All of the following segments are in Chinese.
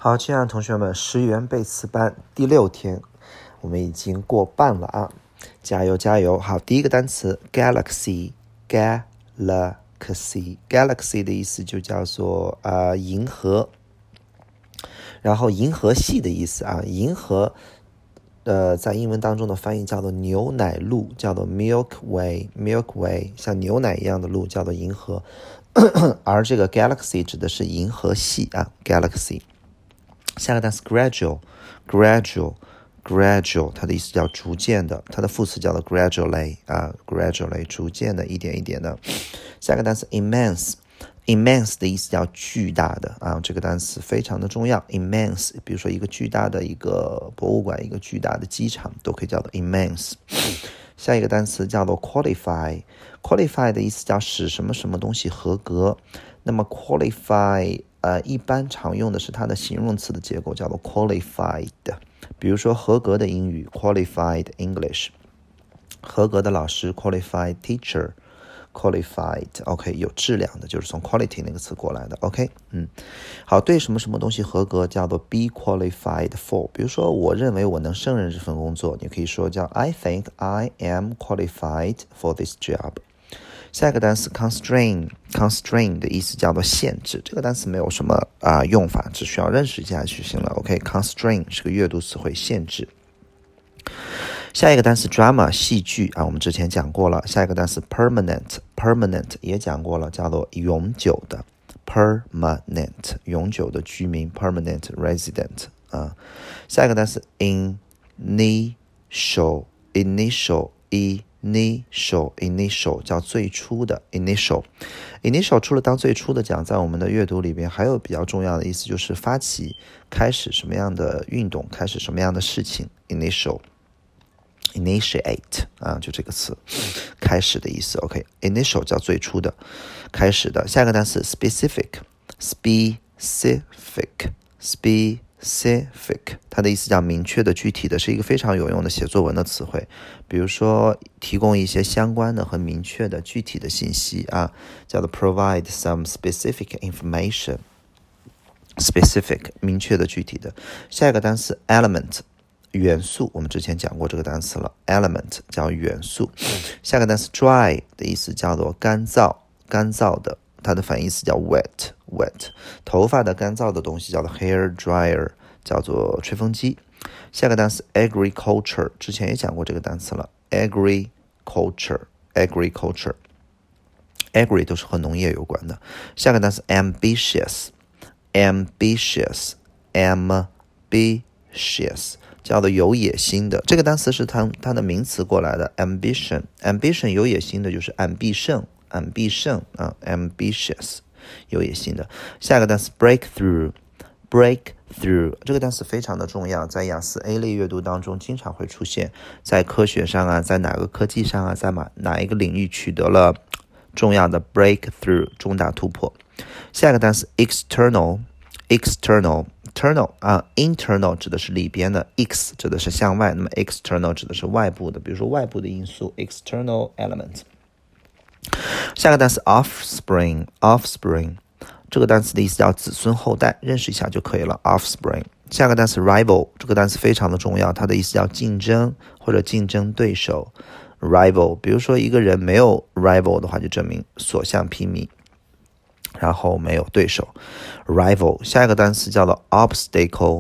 好，亲爱的同学们，10元背词班第6天，我们已经过半了啊！加油加油！好，第一个单词 galaxy 的意思就叫做银河，然后银河系的意思啊，银河在英文当中的翻译叫做牛奶路，叫做 Milky Way， 像牛奶一样的路叫做银河，而这个 galaxy 指的是银河系啊 ，galaxy。下个单词 gradual， 它的意思叫逐渐的，它的副词叫做 gradually 啊 ，gradually 逐渐的，一点一点的。下个单词 immense 的意思叫巨大的啊，这个单词非常的重要 ，immense， 比如说一个巨大的一个博物馆，一个巨大的机场，都可以叫做 immense。下一个单词叫做 qualify 的意思叫使什么什么东西合格。那么 qualify一般常用的是它的形容词的结构，叫做 qualified。比如说合格的英语 qualified English， 合格的老师 qualified teacher。qualified OK 有质量的，就是从 quality 那个词过来的 OK 好，对什么什么东西合格叫做 be qualified for。 比如说我认为我能胜任这份工作，你可以说叫 I think I am qualified for this job。 下一个单词 constrain 的意思叫做限制，这个单词没有什么用法，只需要认识一下就行了 OK constrain 是个阅读词汇，限制。下一个单词 drama 戏剧我们之前讲过了。下一个单词 permanent 也讲过了，叫做永久的 permanent 永久的居民 permanent resident 下一个单词 initial 叫最初的 initial 除了当最初的讲，在我们的阅读里边还有比较重要的意思，就是发起开始什么样的运动，开始什么样的事情 initiate 就这个词开始的意思 OK initial 叫最初的开始的。下一个单词 specific 它的意思叫明确的具体的，是一个非常有用的写作文的词汇。比如说提供一些相关的和明确的具体的信息叫做 provide some specific information。 specific 明确的具体的。下一个单词 element 元素，我们之前讲过这个单词了 element 叫元素。下个单词 dry 的意思叫做干燥的，它的反义词叫 wet。 头发的干燥的东西叫做 hair dryer， 叫做吹风机。下个单词 agriculture 之前也讲过这个单词了 agriculture agri 都是和农业有关的。下个单词 ambitious 叫做有野心的，这个单词是它的名词过来的 ambition 有野心的就是ambition ambitious 有野心的。下一个单词 breakthrough 这个单词非常的重要，在雅思 A 类阅读当中经常会出现，在科学上在哪个科技上在哪一个领域取得了重要的 breakthrough 重大突破。下一个单词 internal internal 指的是里边的， X 指的是向外，那么 external 指的是外部的，比如说外部的因素 external element。 下个单词 offspring 这个单词的意思叫子孙后代，认识一下就可以了 offspring。 下个单词 rival 这个单词非常的重要，它的意思叫竞争或者竞争对手 rival， 比如说一个人没有 rival 的话，就证明所向披靡，然后没有对手 rival。 下一个单词叫做 obstacle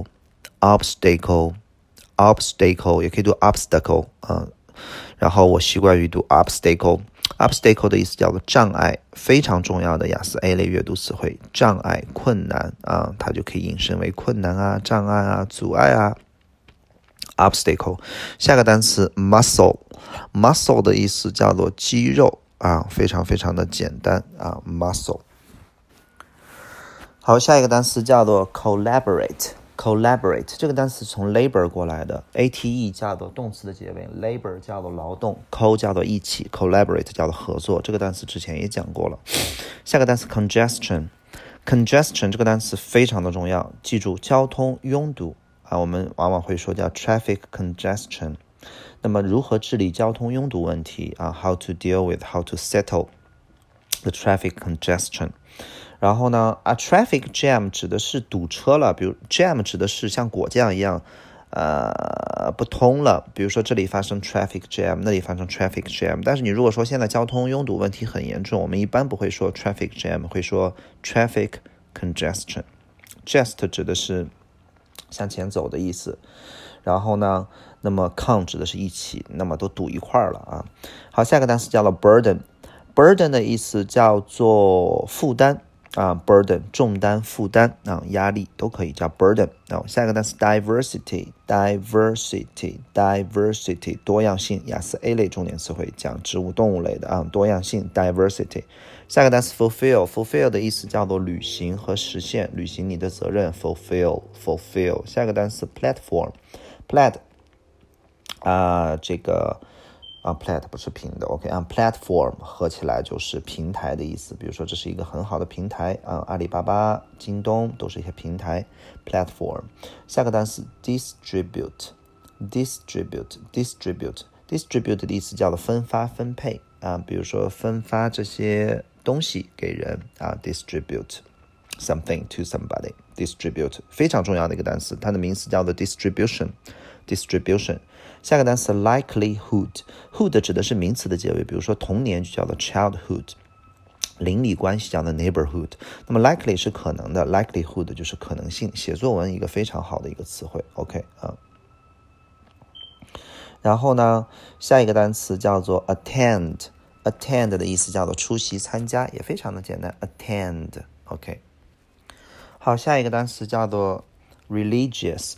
也可以读 obstacle 然后我习惯于读 obstacle 的意思叫做障碍，非常重要的雅思 A 类阅读词汇，障碍困难它就可以引申为困难障碍阻碍obstacle。 下个单词 muscle 的意思叫做肌肉非常非常的简单muscle。好，下一个单词叫做 collaborate 这个单词从 labor 过来的， ate 叫做动词的结尾， labor 叫做劳动， co 叫做一起， collaborate 叫做合作，这个单词之前也讲过了。下个单词 congestion 这个单词非常的重要，记住交通拥堵我们往往会说叫 traffic congestion。 那么如何治理交通拥堵问题how to deal with how to settle the traffic congestion。 然后呢traffic jam 指的是堵车了，比如 jam 指的是像果酱一样不通了，比如说这里发生 traffic jam， 那里发生 traffic jam。 但是你如果说现在交通拥堵问题很严重，我们一般不会说 traffic jam， 会说 traffic congestion。 Just 指的是向前走的意思，然后呢那么 con 指的是一起，那么都堵一块了啊。好，下个单词叫做 burden。 的意思叫做负担burden 重担负担压力都可以叫 burden。下一个单词 diversity 多样性，雅思 A 类重点词汇，讲植物动物类的多样性 diversity。 下个单词 fulfill 的意思叫做履行和实现，履行你的责任 fulfill。 下个单词 platform plat 这个plat 不是平的 OK platform 合起来就是平台的意思，比如说这是一个很好的平台阿里巴巴、京东都是一些平台 platform。 下个单词 distribute 的意思叫做分发分配比如说分发这些东西给人distribute something to somebody。 distribute 非常重要的一个单词，它的名词叫做 distribution。下个单词 likelihood 指的是名词的结尾，比如说童年就叫做 childhood， 邻里关系叫做 neighborhood。 那么 likely 是可能的， likelihood 就是可能性，写作文一个非常好的一个词汇 OK 然后呢下一个单词叫做 attend 的意思叫做出席参加，也非常的简单 attend OK。 好，下一个单词叫做 religious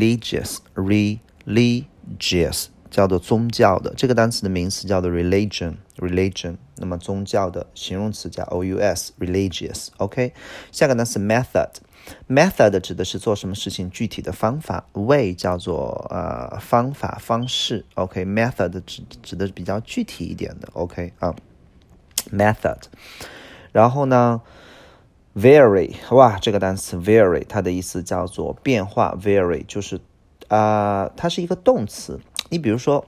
叫做宗教的，这个单词的名词叫做 religion。 那么宗教的形容词加 ous religious OK。 下个单词 method 指的是做什么事情具体的方法， way 叫做方法方式 OK。 method 指的比较具体一点的 OK method。 然后呢vary 这个单词 vary 它的意思叫做变化， vary 就是它是一个动词。你比如说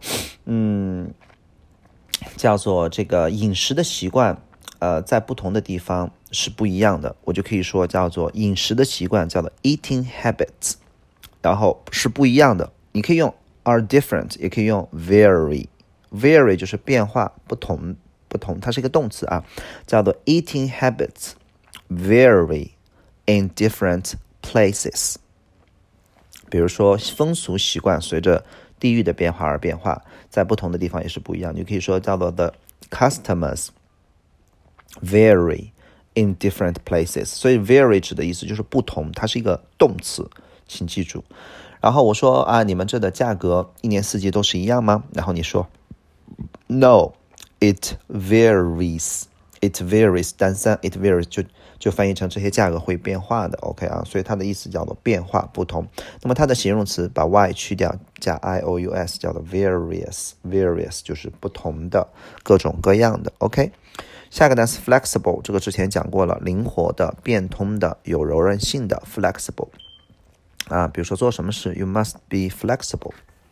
叫做这个饮食的习惯在不同的地方是不一样的，我就可以说叫做饮食的习惯叫做 eating habits， 然后是不一样的，你可以用 are different 也可以用 vary 就是变化不同，它是一个动词叫做 eating habits vary in different places。 比如说风俗习惯随着地域的变化而变化，在不同的地方也是不一样，你可以说叫做 the customers vary in different places。 所以 vary 指的意思就是不同，它是一个动词，请记住。然后我说你们这的价格一年四季都是一样吗？然后你说 No it varies 单三 it varies 就翻译成这些价格会变化的 OK 所以它的意思叫做变化不同。那么它的形容词把 y 去掉加 ious 叫做 various 就是不同的各种各样的 OK。 下个单词 flexible 这个之前讲过了，灵活的变通的有柔韧性的 flexible 比如说做什么事 you must be flexible。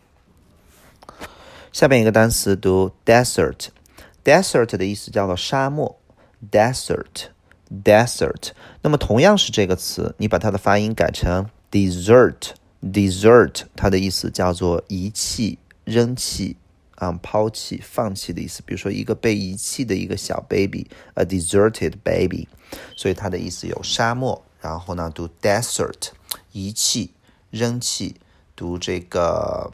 下边一个单词读 desert 的意思叫做沙漠 desert。 那么同样是这个词，你把它的发音改成 desert 它的意思叫做遗弃扔弃抛弃放弃的意思，比如说一个被遗弃的一个小 baby a deserted baby， 所以它的意思有沙漠，然后呢读 desert 遗弃扔弃，读这个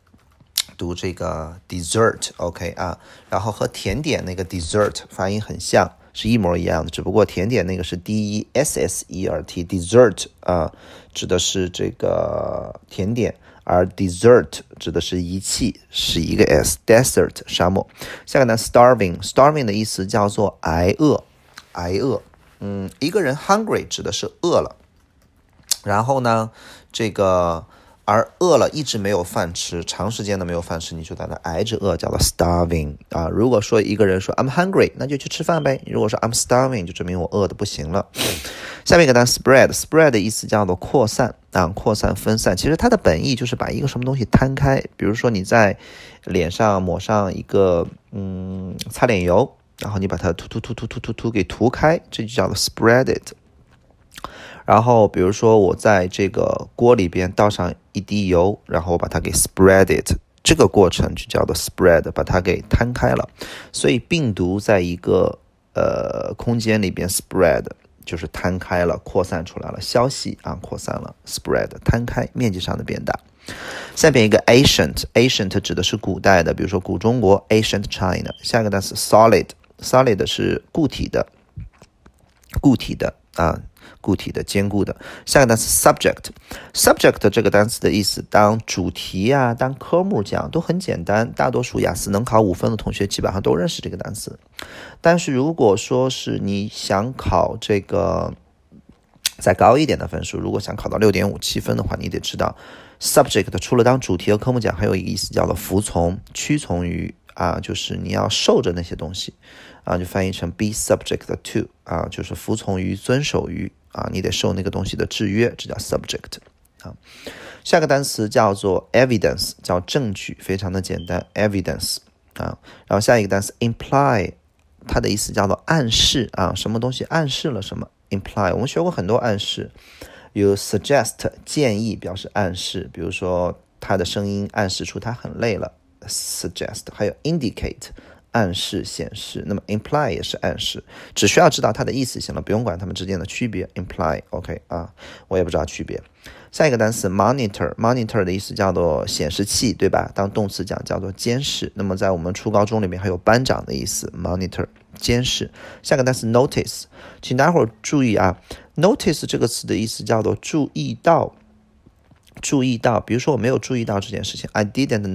dessert OK 然后和甜点那个 dessert 发音很像，是一模一样的，只不过甜点那个是 dessert dessert 指的是这个甜点，而 dessert 指的是遗弃，是一个 s desert 沙漠。下个呢 starving 的意思叫做挨饿一个人 hungry 指的是饿了，然后呢这个而饿了一直没有饭吃，长时间的没有饭吃，你就在那挨着饿，叫做 starving 如果说一个人说 I'm hungry 那就去吃饭呗，如果说 I'm starving 就证明我饿的不行了。下面一个单词 spread 的意思叫做扩散扩散分散，其实它的本意就是把一个什么东西摊开，比如说你在脸上抹上一个擦脸油，然后你把它涂给涂开，这就叫做 spread it 然后比如说我在这个锅里边倒上一滴油，然后我把它给 spread it， 这个过程就叫做 spread， 把它给摊开了。所以病毒在一个空间里边 spread 就是摊开了，扩散出来了，消息啊扩散了 spread 摊开，面积上的变大。下边一个 ancient 指的是古代的，比如说古中国 ancient China。下一个单词 solid 是固体的坚固的。下个单词 subject 这个单词的意思当主题啊当科目讲都很简单，大多数雅思能考5分的同学基本上都认识这个单词。但是如果说是你想考这个再高一点的分数，如果想考到6.5、7分的话，你得知道 subject 除了当主题和科目讲，还有一个意思叫做服从、屈从于就是你要受着那些东西就翻译成 be subject to 就是服从于、遵守于你得受那个东西的制约，这叫 subject 下个单词叫做 evidence， 叫证据，非常的简单 evidence 然后下一个单词 imply， 它的意思叫做暗示什么东西暗示了什么 imply， 我们学过很多暗示，有 suggest 建议表示暗示，比如说他的声音暗示出他很累了 suggest， 还有 indicate 暗示显示，那么 imply 也是暗示，只需要知道它的意思行了，不用管它们之间的区别 imply OK 我也不知道区别。下一个单词 monitor 的意思叫做显示器，对吧？当动词讲叫做监视，那么在我们初高中里面还有班长的意思 monitor 监视。下个单词 notice， 请大家伙注意notice 这个词的意思叫做注意到，比如说我没有注意到这件事情 I didn't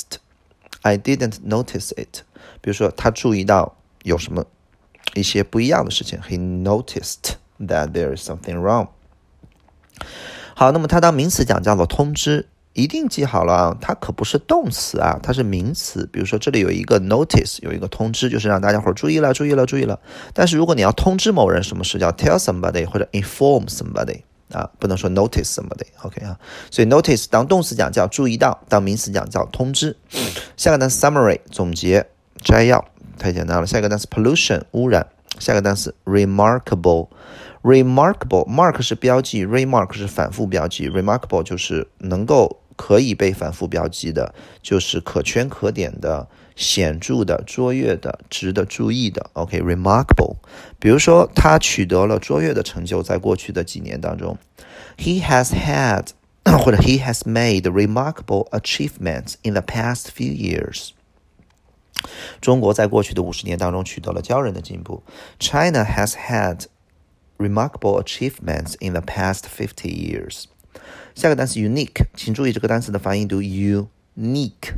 notice it， 比如说他注意到有什么一些不一样的事情 He noticed that there is something wrong。 好，那么它当名词讲叫做通知，一定记好了它可不是动词它是名词。比如说这里有一个 notice， 有一个通知，就是让大家伙注意了。但是如果你要通知某人什么事，叫 tell somebody 或者 inform somebody不能说 notice somebody OK 所以 notice 当动词讲叫注意到，当名词讲叫通知。下个单词 summary 总结摘要，太简单了。下个单词 pollution 污染。下个单词 remarkable mark 是标记， remark 是反复标记， remarkable 就是可以被反复标记的，就是可圈可点的，显著的，卓越的，值得注意的 OK remarkable。 比如说他取得了卓越的成就，在过去的几年当中 He has had 或者 He has made remarkable achievements in the past few years。 中国在过去的50年当中取得了骄人的进步。 China has had remarkable achievements in the past 50 years。 下个单词 unique， 请注意这个单词的发音读 unique，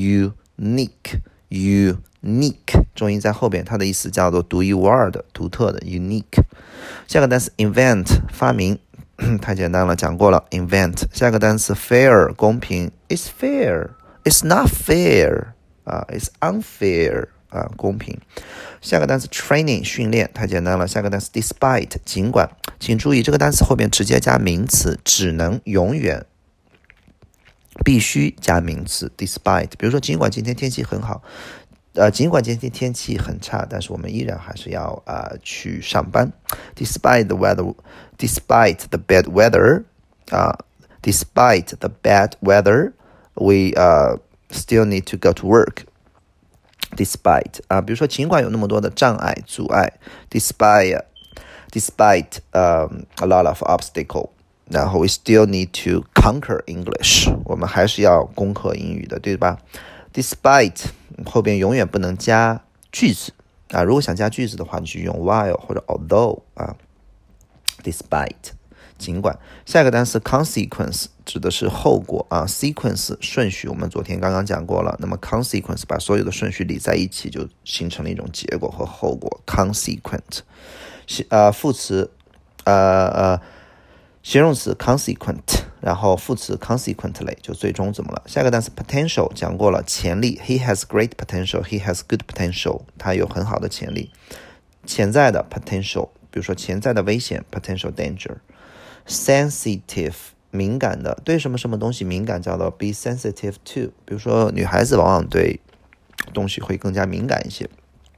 重音在后边，它的意思叫做独一无二的，独特的 unique。 下个单词 invent 发明，太简单了，讲过了 invent。 下个单词 fair 公平， It's fair It's not fair It's unfair公平。下个单词 training 训练，太简单了。下个单词 despite 尽管，请注意这个单词后面直接加名词，只能永远必须加名词 despite。 比如说尽管今天天气很好，尽管今天天气很差，但是我们依然还是要去上班 despite the weather despite the bad weather despite the bad weather we still need to go to work despite 比如说尽管有那么多的障碍阻碍 despite a lot of obstacle， 然后 we still need to conquer English， 我们还是要攻克英语的，对吧？ despite 后边永远不能加句子如果想加句子的话，你就用 while 或者 although despite尽管。下一个单词 consequence 指的是后果sequence 顺序，我们昨天刚刚讲过了。那么 consequence 把所有的顺序理在一起，就形成了一种结果和后果 consequent。副词形容词 consequent， 然后副词 consequently， 就最终怎么了。下个单词 potential 讲过了，潜力 He has great potential He has good potential， 他有很好的潜力。潜在的 potential， 比如说潜在的危险 potential danger。 sensitive 敏感的，对什么什么东西敏感叫做 be sensitive to， 比如说女孩子往往对东西会更加敏感一些，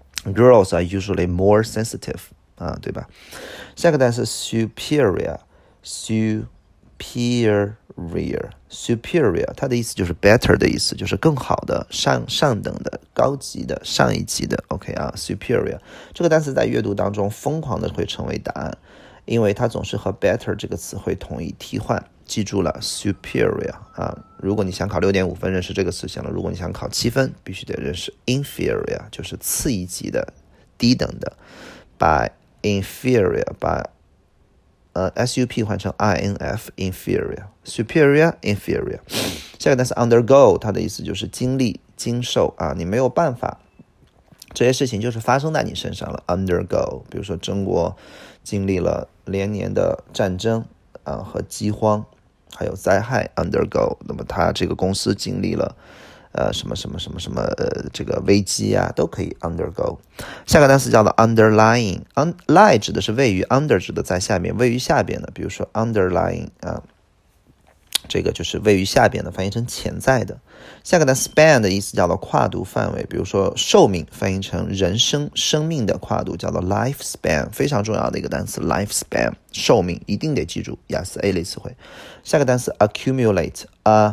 girls are usually more sensitive对吧？下个单词 superior superior，它的意思就是 better 的意思，就是更好的、上等的、高级的、上一级的。OK 啊 ，superior 这个单词在阅读当中疯狂的会成为答案，因为它总是和 better 这个词汇同义替换。记住了 superior 啊，如果你想考6.5分，认识这个词行了。如果你想考7分，必须得认识 inferior， 就是次一级的、低等的。把 inferior 把sup 换成 inf inferior superior inferior。 下个单词 undergo， 它的意思就是经历经受啊，你没有办法，这些事情就是发生在你身上了。 undergo， 比如说中国经历了连年的战争和饥荒还有灾害 undergo， 那么他这个公司经历了什么这个危机啊，都可以 undergo。 下个单词叫做 underlying，lie 指的是位于， under 指的在下面，位于下边的，比如说 underlying 这个就是位于下边的，翻译成潜在的。下个单词 span 的意思叫做跨度范围，比如说寿命翻译成人生生命的跨度，叫做 lifespan， 非常重要的一个单词 lifespan， 寿命一定得记住，雅思 A 类词汇。下个单词 accumulate，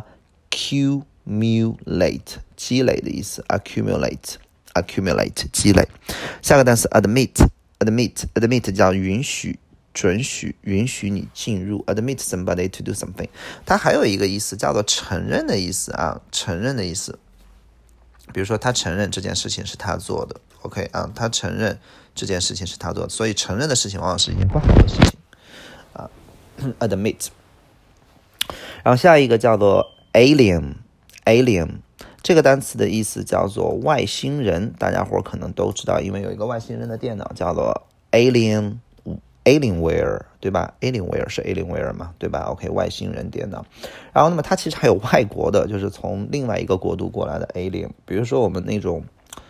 积累的意思 accumulate 积累。下个单词 admit 叫允许准许，允许你进入 admit somebody to do something。 它还有一个意思叫做承认的意思承认的意思，比如说他承认这件事情是他做的。 OK 他承认这件事情是他做的，所以承认的事情往往是一件不好的事情admit。 然后下一个叫做 alien， 这个单词的意思叫做外星人，大家伙可能都知道，因为有一个外星人的电脑叫做 Alienware， 对吧？ Alienware 是 Alienware 嘛，对吧？ OK， 外星人电脑。然后那么它其实还有外国的，就是从另外一个国度过来的 Alien， 比如说我们那种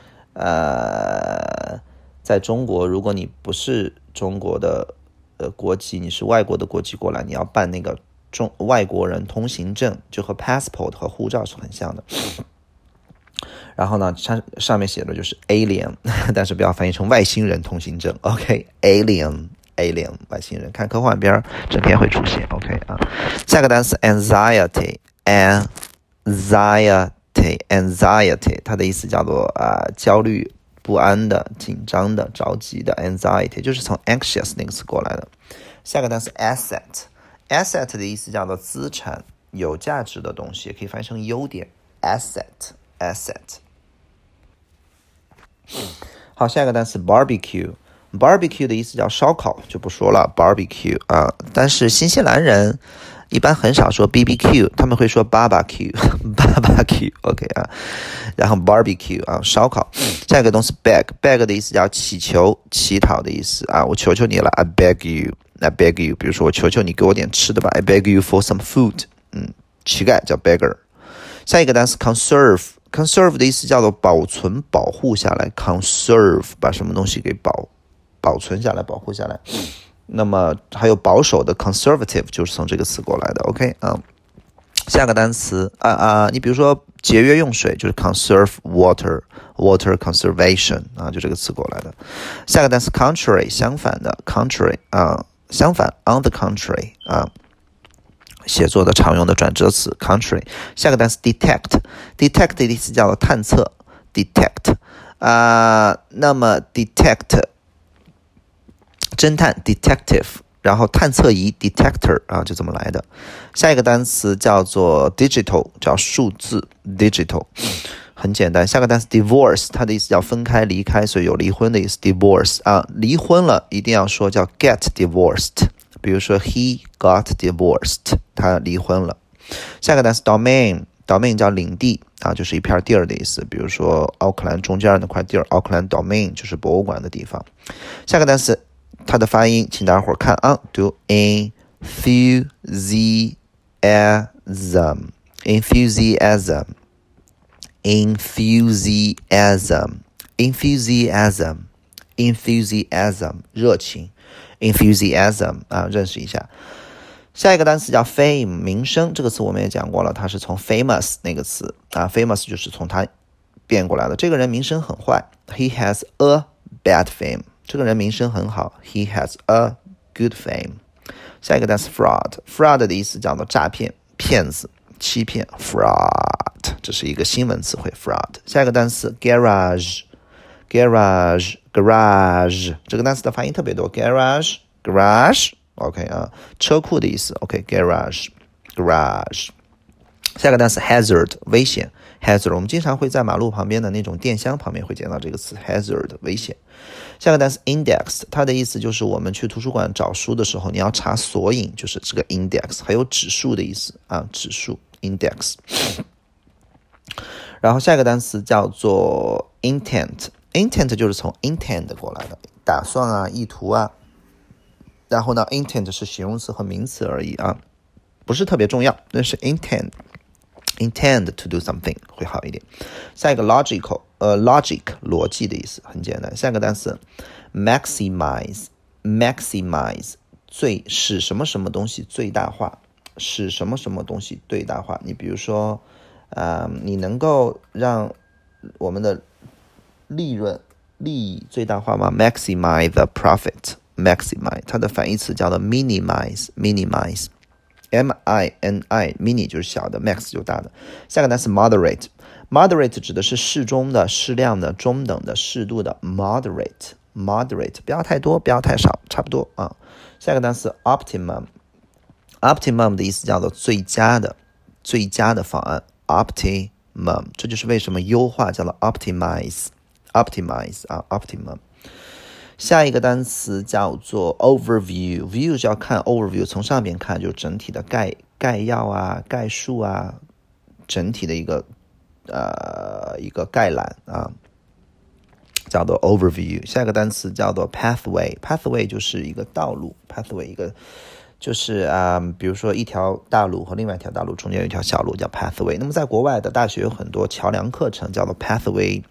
在中国，如果你不是中国的国籍，你是外国的国籍过来，你要办那个外国人通行证，就和 passport 和护照是很像的。然后呢，上面写的就是 alien， 但是不要翻译成外星人通行证。 OK， alien 外星人，看科幻片整天会出现。 OK 下个单词 anxiety， 它的意思叫做焦虑不安的、紧张的、着急的。 anxiety 就是从 anxious 那个词过来的。下个单词 asset 的意思叫做资产、有价值的东西，也可以翻译成优点 asset。 好，下一个单词 barbecue 的意思叫烧烤，就不说了 barbecue 但是新西兰人一般很少说 BBQ， 他们会说 barbecue OK 然后 barbecue 烧烤。下一个东西 beg 的意思叫祈求、乞讨的意思我求求你了 I beg you， 比如说我求求你给我点吃的吧 I beg you for some food， 乞丐叫 beggar。 下一个单词 conserve 的意思叫做保存、保护下来 conserve 把什么东西给保存下来、保护下来。那么还有保守的 conservative 就是从这个词过来的。 OK 下个单词你比如说节约用水就是 conserve water conservation 就这个词过来的。下个单词 contrary 相反的 contrary 相反 on the contrary 写作的常用的转折词 contrary。 下个单词 detect 的意思叫做探测 detect 那么 detect 侦探 detective， 然后探测仪 detector 就这么来的。下一个单词叫做 digital， 叫数字 digital， 很简单。下个单词 divorce 它的意思叫分开、离开，所以有离婚的意思 divorce 离婚了一定要说叫 get divorced，比如说 he got divorced， 他离婚了。下个单词 domain 叫领地就是一片地儿的意思，比如说奥克兰中间那块地儿，奥克兰 domain 就是博物馆的地方。下个单词它的发音请大家伙看读 enthusiasm热情enthusiasm 认识一下。下一个单词叫 fame 名声，这个词我们也讲过了，它是从 famous 那个词famous 就是从它变过来的。这个人名声很坏 he has a bad fame， 这个人名声很好 he has a good fame。 下一个单词 fraud 的意思叫做诈骗、骗子、欺骗 fraud， 这是一个新闻词汇 fraud。下一个单词 garage， 这个单词的发音特别多 garage OK 啊，车库的意思 OK garage。下一个单词 hazard 危险 hazard， 我们经常会在马路旁边的那种电箱旁边会见到这个词 hazard 危险。下个单词 index， 它的意思就是我们去图书馆找书的时候，你要查索引，就是这个 index， 还有指数的意思啊，指数 index。然后下一个单词叫做 intent 就是从 intend 过来的，打算啊，意图啊。然后呢 intent 是形容词和名词而已啊，不是特别重要，但是 intend to do something 会好一点。下一个 logic 逻辑的意思很简单。下一个单词 maximize 使什么什么东西最大化，使什么什么东西最大化。你比如说你能够让我们的利益最大化吗？ maximize the profit， maximize 它的反义词叫做 minimize mini 就是小的， max 就是大的。下个单词 moderate 指的是适中的、适量的、中等的、适度的 moderate 不要太多不要太少，差不多啊。下个单词 optimum 的意思叫做最佳的方案 optimum， 这就是为什么优化叫做 optimize 啊 optimum。下一个单词叫做 overview， view 是要看 overview， 从上边看就是整体的概要啊、概述啊，整体的一个概览啊，叫做 overview。下一个单词叫做 pathway 就是一个道路 pathway 一个就是比如说一条大路和另外一条大路中间有一条小路叫 pathway。那么在国外的大学有很多桥梁课程叫做 pathway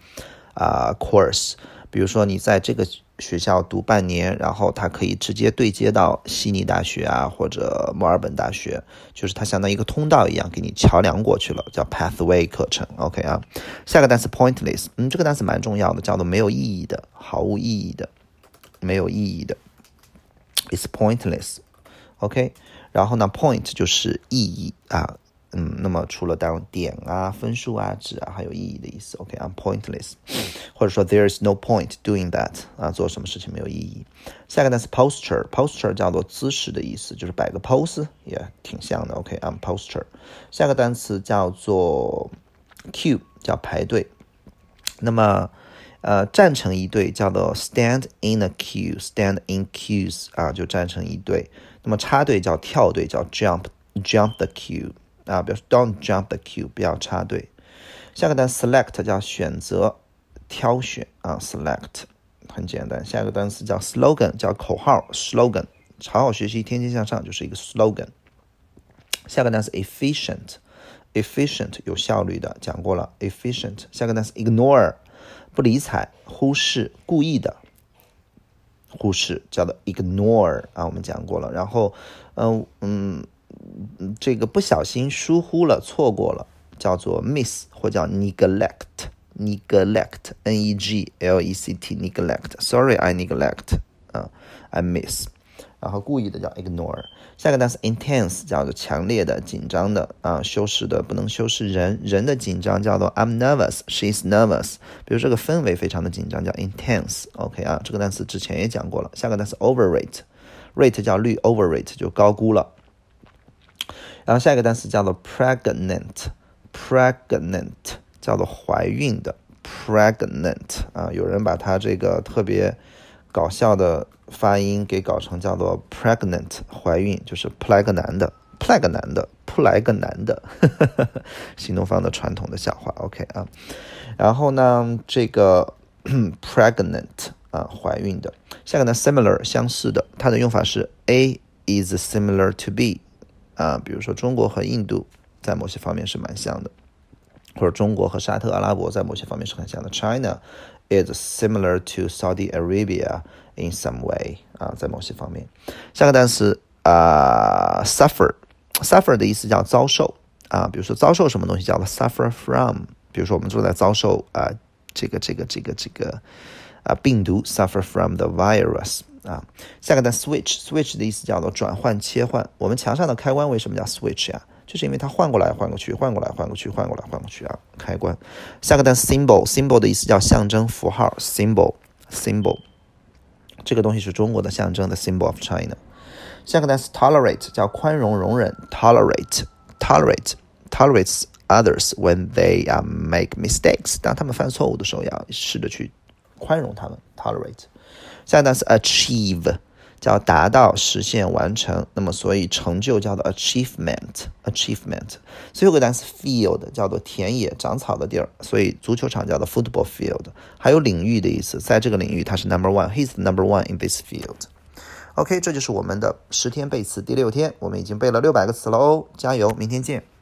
course， 比如说你在这个学校读半年，然后它可以直接对接到悉尼大学啊或者墨尔本大学，就是它相当于一个通道一样给你桥梁过去了，叫 pathway 课程 OK 啊。下个单词 pointless， 这个单词蛮重要的，叫做没有意义的、毫无意义的、没有意义的 It's pointless OK。 然后呢 point 就是意义啊，那么除了当点啊、分数啊、值啊，还有意义的意思 OK I'm pointless， 或者说 there is no point doing that 啊，做什么事情没有意义。下个单词 posture 叫做姿势的意思，就是摆个 pose 也挺像的 OK I'm posture。 下个单词叫做 queue 叫排队，那么站成一队叫做 stand in a queue stand in queues 啊，就站成一队。那么插队叫跳队，叫 jump the queue啊，比如说 don't jump the queue， 不要插队。下个单词 select 叫选择、挑选啊 select 很简单。下个单词叫 slogan 叫口号 slogan， 好好学习天天向上就是一个 slogan。下个单词 efficient 有效率的，讲过了 efficient。下个单词 ignore 不理睬、忽视、故意的忽视叫做 ignore 啊，我们讲过了。然后这个不小心疏忽了、错过了叫做 miss 或叫 neglect neglect neglect sorry I neglect I miss， 然后故意的叫 ignore。下个单词 intense 叫做强烈的、紧张的修饰的不能修饰人的紧张叫做 I'm nervous she's nervous， 比如这个氛围非常的紧张叫 intense OK 啊，这个单词之前也讲过了。下个单词 overrate rate 叫率 overrate 就高估了。然后下一个单词叫做 pregnant 叫做怀孕的 pregnant 啊，有人把它这个特别搞笑的发音给搞成叫做 pregnant 怀孕，就是扑来个男的新东方的传统的笑话 OK 啊。然后呢这个pregnant 怀孕的。下个呢 similar 相似的，它的用法是 A is similar to B比如说中国和印度在某些方面是蛮像的，或者中国和沙特阿拉伯在某些方面是很像的。 China is similar to Saudi Arabia in some way 在某些方面。下个单词suffer 的意思叫遭受比如说遭受什么东西叫做 suffer from， 比如说我们正在遭受这个病毒 suffer from the virus 啊。下个单 switch 的意思叫做转换切换。我们墙上的开关为什么叫 switch 呀？就是因为它换过来换过去，换过来换过去，换过来换过去啊，开关。下个单 symbol 的意思叫象征符号 symbol， 这个东西是中国的象征的 symbol of China。下个单词 tolerate 叫宽容容忍 tolerates others when they make mistakes， 当他们犯错误的时候要试着去宽容他们 tolerate。下个单词 achieve 叫达到实现完成，那么所以成就叫做 achievement。最后一个单词 field 叫做田野长草的地儿，所以足球场叫做 football field， 还有领域的意思，在这个领域他是 number one， he's the number one in this field。 OK， 这就是我们的10天背词第6天，我们已经背了600个词了哦，加油，明天见。